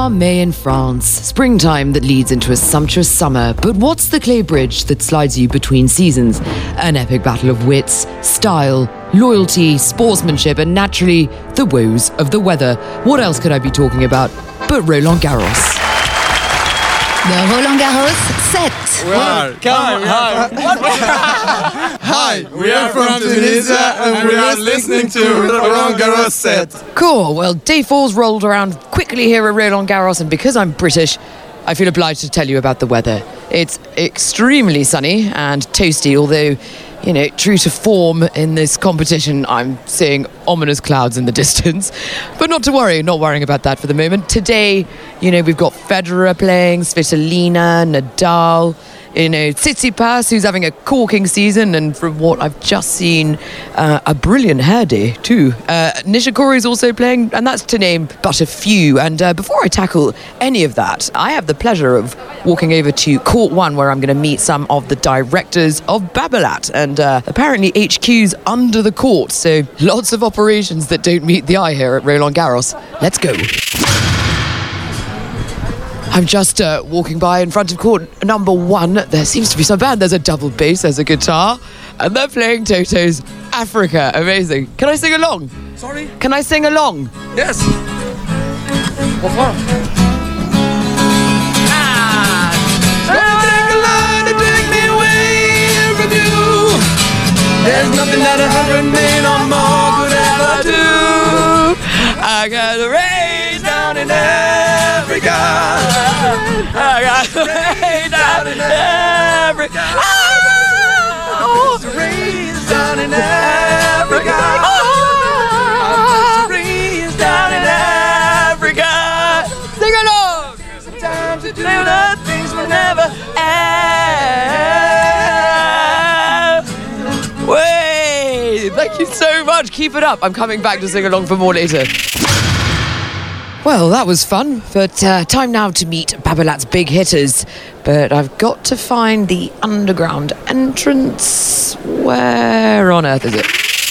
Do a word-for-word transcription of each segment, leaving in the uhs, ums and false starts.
Ah, May in France, springtime that leads into a sumptuous summer. But what's the clay bridge that slides you between seasons? An epic battle of wits, style, loyalty, sportsmanship, and naturally, the woes of the weather. What else could I be talking about but Roland Garros? The Roland Garros set. Well, come hi. Hi, we are from Tunisia and we are listening to the Roland Garros set. Cool, well, day four's rolled around quickly here at Roland Garros, and because I'm British, I feel obliged to tell you about the weather. It's extremely sunny and toasty, although, you know, true to form in this competition, I'm seeing ominous clouds in the distance. But not to worry, not worrying about that for the moment. Today, you know, we've got Federer playing, Svitolina, Nadal, you know, Tsitsipas, who's having a corking season, and from what I've just seen, uh, a brilliant hair day too. Uh, Nishikori's also playing, and that's to name but a few. And uh, before I tackle any of that, I have the pleasure of walking over to Court One, where I'm going to meet some of the directors of Babolat, and uh, apparently H Q's under the court, so lots of operations that don't meet the eye here at Roland Garros. Let's go. I'm just uh, walking by in front of court number one. There seems to be some band. There's a double bass, there's a guitar, and they're playing Toto's Africa. Amazing. Can I sing along? Sorry? Can I sing along? Yes. Pourquoi? There's nothing that a hundred men or more could ever do. I got the rain down in Africa. I got the rain down in Africa. Oh, the rain down in Africa. Oh, the rain down in Africa. Sing along. There's a time to do the things we never end. Way! Thank you so much. Keep it up. I'm coming back to sing along for more later. Well, that was fun, but uh, time now to meet Babolat's big hitters. But I've got to find the underground entrance. Where on earth is it?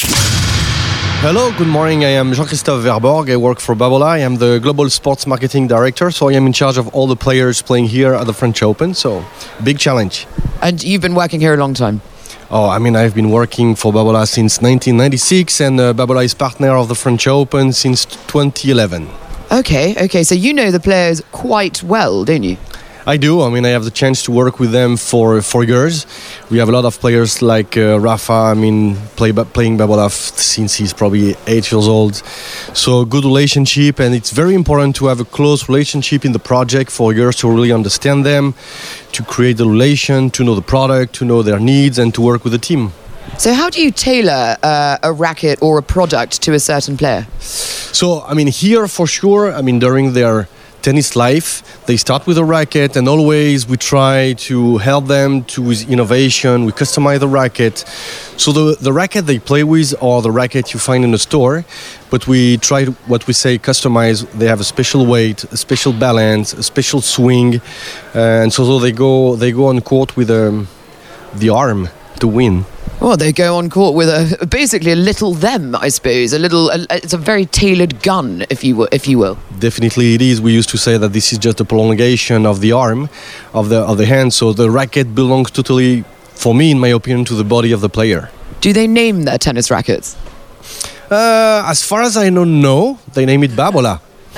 Hello, good morning. I am Jean-Christophe Verborg. I work for Babolat. I am the Global Sports Marketing Director, so I am in charge of all the players playing here at the French Open, so big challenge. And you've been working here a long time? Oh, I mean, I've been working for Babolat since nineteen ninety-six, and uh, Babolat is partner of the French Open since twenty eleven. Okay, okay, so you know the players quite well, don't you? I do. I mean, I have the chance to work with them for four years. We have a lot of players like uh, Rafa, I mean, play, playing Babolat since he's probably eight years old. So good relationship, and it's very important to have a close relationship in the project for years to really understand them, to create the relation, to know the product, to know their needs, and to work with the team. So how do you tailor uh, a racket or a product to a certain player? So, I mean, here for sure, I mean, during their tennis life, they start with a racket, and always we try to help them to with innovation. We customize the racket. So the, the racket they play with or the racket you find in the store, but we try to, what we say, customize. They have a special weight, a special balance, a special swing, uh, and so, so they go they go on court with um, the arm to win. Well, they go on court with a basically a little them, I suppose. A little, a, it's a very tailored gun, if you will, if you will. Definitely, it is. We used to say that this is just a prolongation of the arm, of the of the hand. So the racket belongs totally, for me, in my opinion, to the body of the player. Do they name their tennis rackets? Uh, as far as I know, no. They name it Babolat.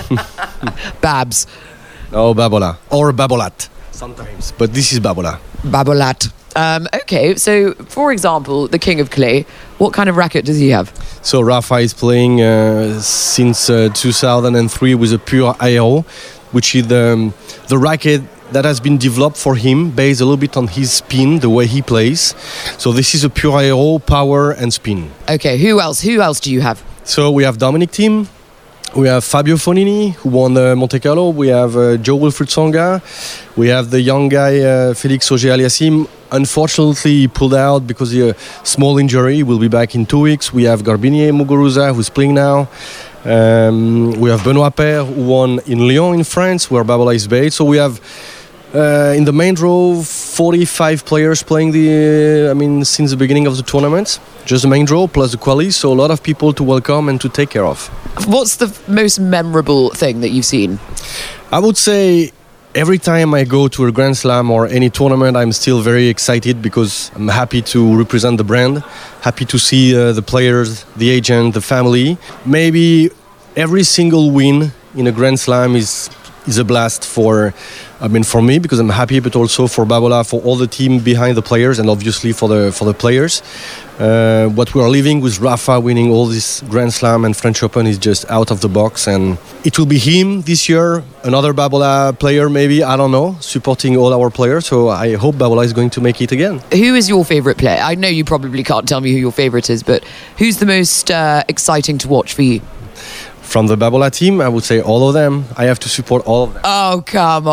Babs. No, Babolat or Babolat sometimes, but this is Babolat. Babolat. Um, okay, so for example, the King of Clay, what kind of racket does he have? So Rafa is playing uh, since uh, two thousand three with a pure aero, which is the, um, the racket that has been developed for him based a little bit on his spin, the way he plays. So this is a pure aero, power and spin. Okay, who else? Who else do you have? So we have Dominic Thiem. We have Fabio Fognini, who won the Monte Carlo. We have uh, Jo-Wilfried Tsonga. We have the young guy, uh, Félix Auger-Aliassime. Unfortunately, he pulled out because of a small injury. He will be back in two weeks. We have Garbinier Muguruza, who's playing now. Um, we have Benoît Paire, who won in Lyon in France, where Babolat is based. So we have, uh, in the main draw, forty-five players playing the, uh, I mean, since the beginning of the tournament. Just the main draw plus the quali, so a lot of people to welcome and to take care of. What's the most memorable thing that you've seen? I would say every time I go to a Grand Slam or any tournament, I'm still very excited because I'm happy to represent the brand, happy to see uh, the players, the agent, the family. Maybe every single win in a Grand Slam is is a blast for, I mean, for me because I'm happy, but also for Babolat, for all the team behind the players, and obviously for the for the players. Uh, what we are living with Rafa winning all this Grand Slam and French Open is just out of the box, and it will be him this year, another Babolat player maybe, I don't know, supporting all our players. So I hope Babolat is going to make it again. Who is your favourite player? I know you probably can't tell me who your favourite is, but who's the most uh, exciting to watch for you? From the Babolat team, I would say all of them. I have to support all of them. Oh, come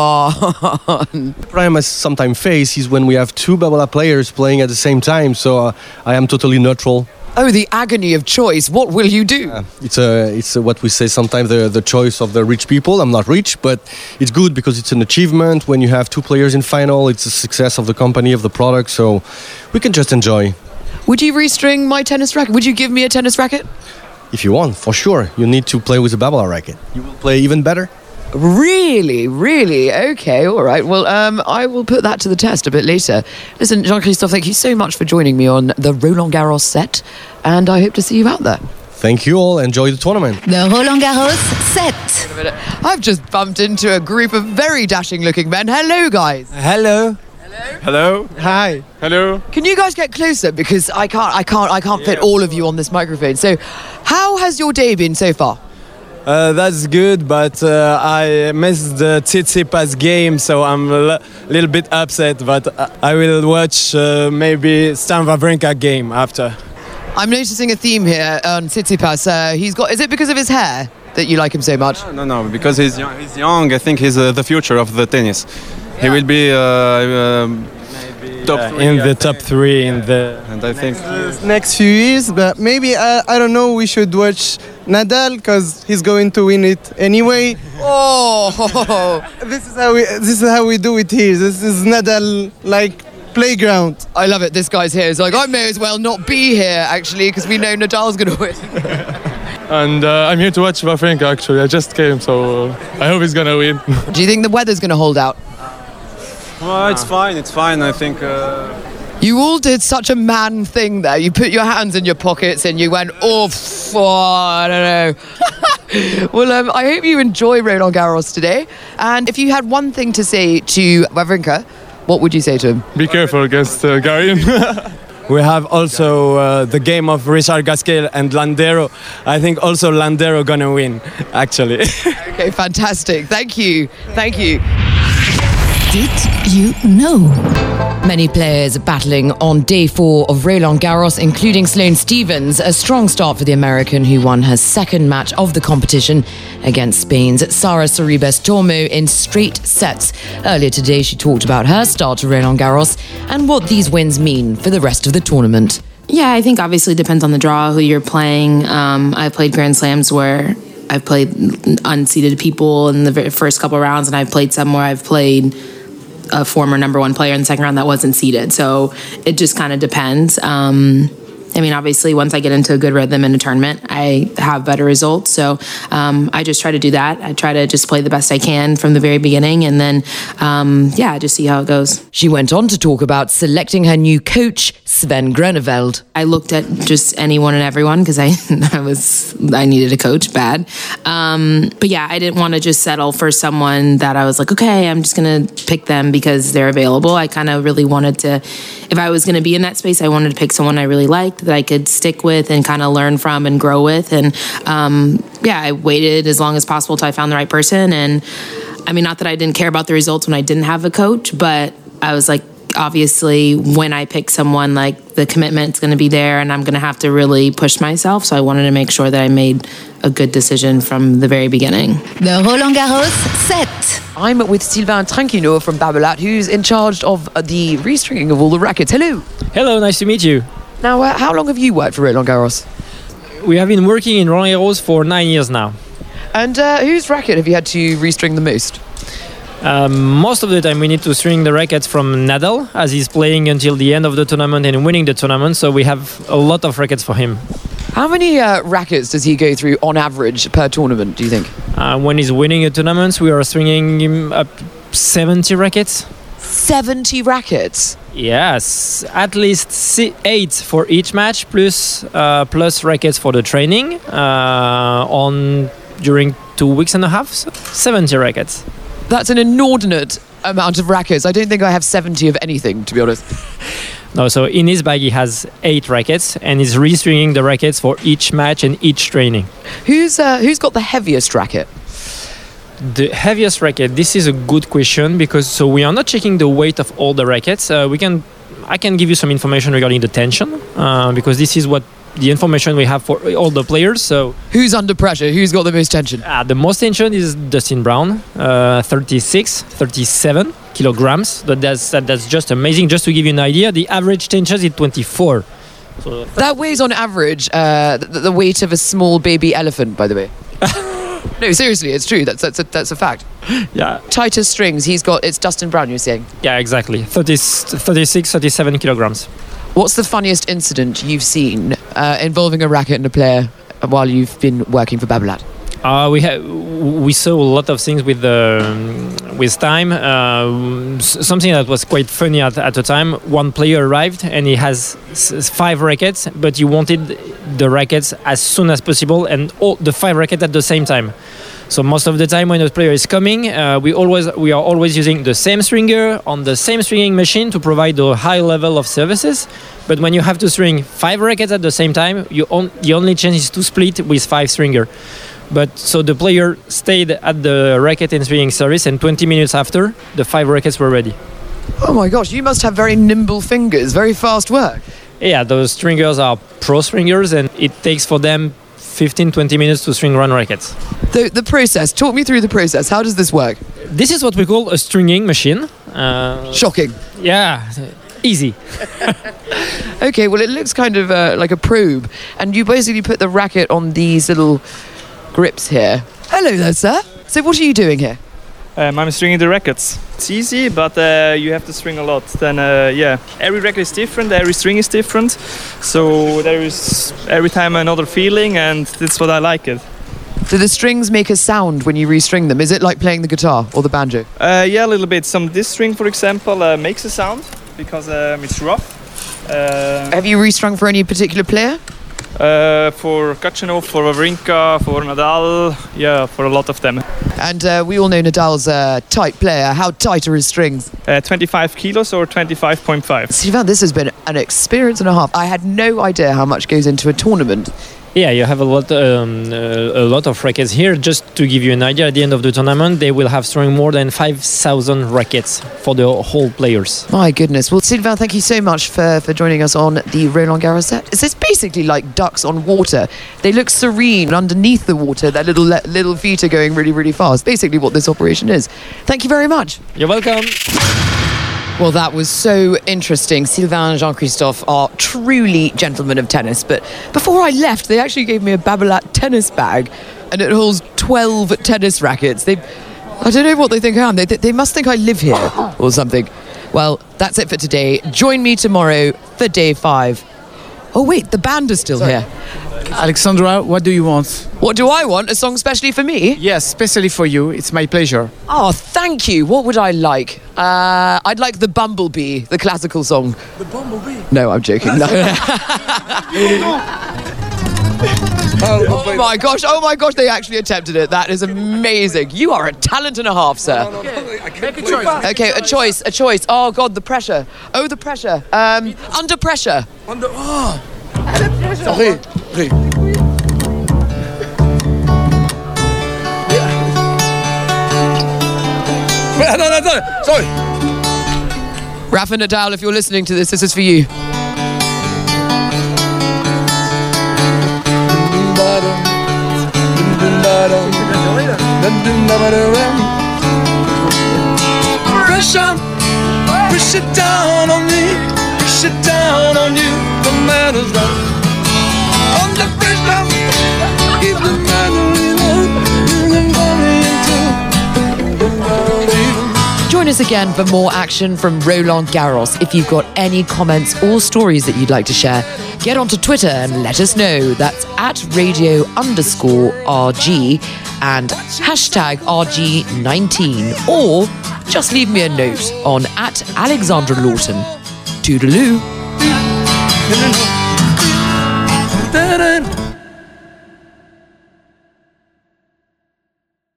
on. The problem I sometimes face is when we have two Babolat players playing at the same time, so uh, I am totally neutral. Oh, the agony of choice. What will you do? Uh, it's a, it's a, what we say sometimes, the, the choice of the rich people. I'm not rich, but it's good because it's an achievement. When you have two players in final, it's a success of the company, of the product, so we can just enjoy. Would you restring my tennis racket? Would you give me a tennis racket? If you want, for sure. You need to play with a Babolat racket. You will play even better. Really? Really? Okay, all right. Well, um, I will put that to the test a bit later. Listen, Jean-Christophe, thank you so much for joining me on the Roland Garros set, and I hope to see you out there. Thank you all. Enjoy the tournament. The Roland Garros set. I've just bumped into a group of very dashing-looking men. Hello, guys. Hello. Hello. Hi. Hello. Can you guys get closer because I can't, I can't, I can't fit all of you on this microphone. So, how has your day been so far? Uh, that's good, but uh, I missed the Tsitsipas game, so I'm a l- little bit upset. But I will watch uh, maybe Stan Wawrinka game after. I'm noticing a theme here on Tsitsipas. Uh, he's got. Is it because of his hair that you like him so much? No, no, because he's young. He's young. I think he's uh, the future of the tennis. He will be uh, um, top Yeah, three, in I the think. top three in the. And I think next few years, but maybe I, I don't know. We should watch Nadal because he's going to win it anyway. Oh, This is how we this is how we do it here. This is Nadal like playground. I love it. This guy's here. It's like I may as well not be here actually because we know Nadal's going to win. And uh, I'm here to watch Wawrinka actually. I just came, so uh, I hope he's gonna win. Do you think the weather's going to hold out? well, it's fine. It's fine. I think. Uh, You all did such a man thing there. You put your hands in your pockets and you went, oh, f- oh I don't know. Well, um, I hope you enjoy Roland Garros today. And if you had one thing to say to Wawrinka, what would you say to him? Be careful against uh, Garin. We have also uh, the game of Richard Gasquet and Landero. I think also Landero gonna win, actually. Okay, fantastic. Thank you. Thank you. Did you know? Many players battling on day four of Roland Garros, including Sloane Stephens. A strong start for the American, who won her second match of the competition against Spain's Sara Sorribes Tormo in straight sets. Earlier today, she talked about her start to Roland Garros and what these wins mean for the rest of the tournament. Yeah, I think obviously it depends on the draw, who you're playing. Um, I've played Grand Slams where I've played unseeded people in the very first couple rounds, and I've played some where I've played a former number one player in the second round that wasn't seeded. So it just kind of depends. Um, I mean, obviously, once I get into a good rhythm in a tournament, I have better results. So um, I just try to do that. I try to just play the best I can from the very beginning. And then, um, yeah, just see how it goes. She went on to talk about selecting her new coach, Sven Groeneveld. I looked at just anyone and everyone because I, I was I needed a coach bad. Um, but yeah, I didn't want to just settle for someone that I was like, okay, I'm just going to pick them because they're available. I kind of really wanted to, if I was going to be in that space, I wanted to pick someone I really liked, that I could stick with and kind of learn from and grow with. And um, yeah, I waited as long as possible till I found the right person. And I mean, not that I didn't care about the results when I didn't have a coach, but I was like, obviously, when I pick someone, like the commitment's going to be there and I'm going to have to really push myself. So I wanted to make sure that I made a good decision from the very beginning. The Roland Garros set. I'm with Sylvain Tranquino from Babolat, who's in charge of the restringing of all the rackets. Hello. Hello, nice to meet you. Now, uh, how long have you worked for Roland Garros? We have been working in Roland Garros for nine years now. And uh, whose racket have you had to restring the most? Um, most of the time we need to string the rackets from Nadal, as he's playing until the end of the tournament and winning the tournament, so we have a lot of rackets for him. How many uh, rackets does he go through on average per tournament, do you think? Uh, when he's winning a tournament, we are swinging him up seventy rackets. seventy rackets? Yes, at least si- eight for each match, plus uh, plus rackets for the training uh, on during two weeks and a half. So seventy rackets. That's an inordinate amount of rackets. I don't think I have seventy of anything, to be honest. No, so in his bag he has eight rackets, and he's restringing the rackets for each match and each training. Who's uh, who's got the heaviest racket? The heaviest racket. This is a good question because so we are not checking the weight of all the rackets. Uh, we can, I can give you some information regarding the tension uh, because this is what the information we have for all the players. So who's under pressure? Who's got the most tension? Uh, the most tension is Dustin Brown, uh, thirty-six, thirty-seven kilograms. But that's that, that's just amazing. Just to give you an idea, the average tension is twenty-four. So that weighs on average uh, the, the weight of a small baby elephant, by the way. No, seriously, it's true. That's that's a, that's a fact. Yeah. Tighter strings. He's got. It's Dustin Brown. You're saying. Yeah, exactly. thirty, thirty-six, thirty-seven kilograms. What's the funniest incident you've seen uh, involving a racket and a player while you've been working for Babolat? Uh, we ha- we saw a lot of things with um, with time. Uh, something that was quite funny at, at the time. One player arrived and he has s- five rackets, but he wanted the rackets as soon as possible and all the five rackets at the same time. So most of the time when a player is coming, uh, we always we are always using the same stringer on the same stringing machine to provide a high level of services. But when you have to string five rackets at the same time, you on- the only chance is to split with five stringer. But so the player stayed at the racket and stringing service, and twenty minutes after, the five rackets were ready. Oh my gosh, you must have very nimble fingers, very fast work. Yeah, those stringers are pro stringers, and it takes for them fifteen to twenty minutes to string one racket. The, the process, talk me through the process. How does this work? This is what we call a stringing machine. Uh, Shocking. Yeah, easy. Okay, well, it looks kind of uh, like a probe, and you basically put the racket on these little grips here. Hello there, sir. So what are you doing here? Um, I'm stringing the rackets. It's easy, but uh, you have to string a lot. Then, uh, yeah, every racket is different, every string is different. So there is every time another feeling, and that's what I like it. Do the strings make a sound when you restring them? Is it like playing the guitar or the banjo? Uh, yeah, a little bit. Some this string, for example, uh, makes a sound because um, it's rough. Uh, Have you restrung for any particular player? Uh, for Khachanov, for Wawrinka, for Nadal, yeah, for a lot of them. And uh, we all know Nadal's a tight player. How tight are his strings? Uh, twenty-five kilos or twenty-five point five. Sylvain, this has been an experience and a half. I had no idea how much goes into a tournament. Yeah, you have a lot, um, uh, a lot of rackets here. Just to give you an idea, at the end of the tournament, they will have strung more than five thousand rackets for the whole players. My goodness. Well, Sylvain, thank you so much for, for joining us on the Roland Garros set. It's it's basically like ducks on water. They look serene underneath the water. Their little little feet are going really, really fast. Basically what this operation is. Thank you very much. You're welcome. Well, that was so interesting. Sylvain and Jean-Christophe are truly gentlemen of tennis. But before I left, they actually gave me a Babolat tennis bag, and it holds twelve tennis rackets. They, I don't know what they think I am. They, they must think I live here or something. Well, that's it for today. Join me tomorrow for day five. Oh, wait, the band is still Sorry. here. Alexandra, what do you want? What do I want? A song specially for me? Yes, especially for you. It's my pleasure. Oh, thank you. What would I like? Uh, I'd like the Bumblebee, the classical song. The Bumblebee? No, I'm joking. No. Oh my gosh, oh my gosh, they actually attempted it. That is amazing. You are a talent and a half, sir. No, no, no. I can't Make a choice. Okay, a choice, a choice. Oh God, the pressure. Oh, the pressure. Um, under pressure. Under, oh. Sorry. Sorry. No, no, no, sorry. Rafa Nadal, if you're listening to this, this is for you. Pressure, push it down on me, push it down on you, the man is right. Under pressure, keep the man Join us again for more action from Roland Garros. If you've got any comments or stories that you'd like to share, get onto Twitter and let us know. That's at radio underscore RG and hashtag R G nineteen. Or just leave me a note on at Alexandra Lawton. Toodaloo. Da-da.